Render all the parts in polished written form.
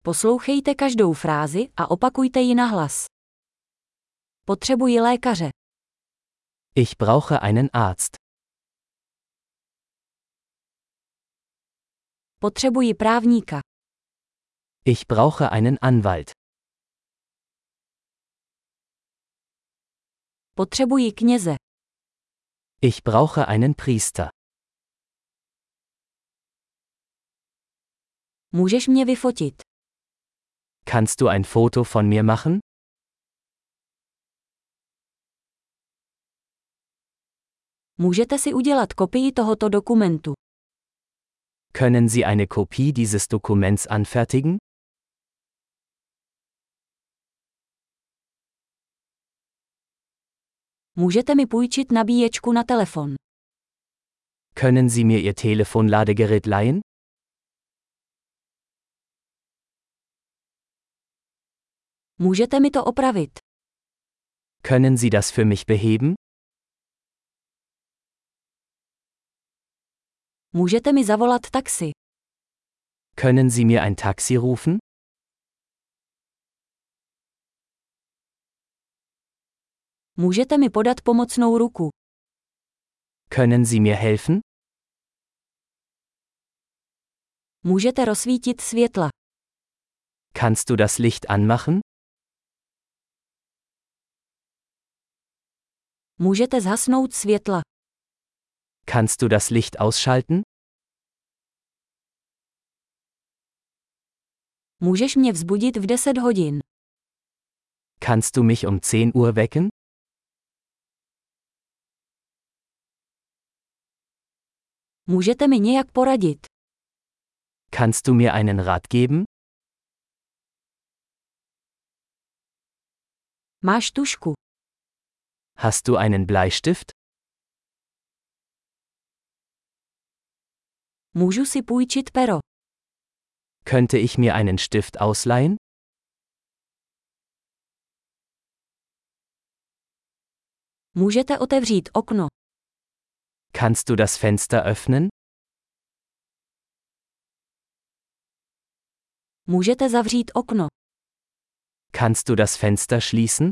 Poslouchejte každou frázi a opakujte ji nahlas. Potřebuji lékaře. Ich brauche einen Arzt. Potřebuji právníka. Ich brauche einen Anwalt. Potřebuji kněze. Ich brauche einen Priester. Můžeš mě vyfotit. Kannst du ein Foto von mir machen? Můžete si udělat kopii tohoto dokumentu. Können Sie eine Kopie dieses Dokuments anfertigen? Můžete mi půjčit nabíječku na telefon. Können Sie mir Ihr Telefonladegerät leihen? Můžete mi to opravit. Können Sie das für mich beheben? Můžete mi zavolat taxi. Können Sie mir ein Taxi rufen? Můžete mi podat pomocnou ruku. Können Sie mir helfen? Můžete rozsvítit světla. Kannst du das Licht anmachen? Můžete zhasnout světla. Kannst du das Licht ausschalten? Můžeš mě vzbudit v 10 hodin. Kannst du mich um 10 Uhr wecken? Můžete mi nějak poradit. Kannst du mir einen Rat geben? Máš tušku. Hast du einen Bleistift? Můžu si půjčit pero. Könnte ich mir einen Stift ausleihen? Můžete otevřít okno. Kannst du das Fenster öffnen? Můžete zavřít okno. Kannst du das Fenster schließen?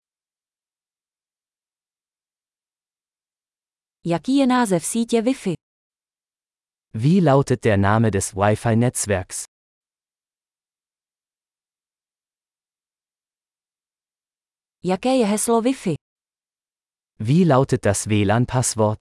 Jaký je název sítě Wi-Fi? Wie lautet der Name des Wi-Fi-Netzwerks? Jaké je heslo Wi-Fi? Wie lautet das WLAN-Passwort?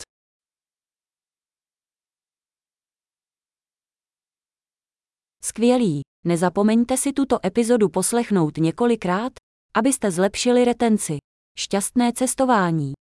Skvělý. Nezapomeňte si tuto epizodu poslechnout několikrát, abyste zlepšili retenci. Šťastné cestování.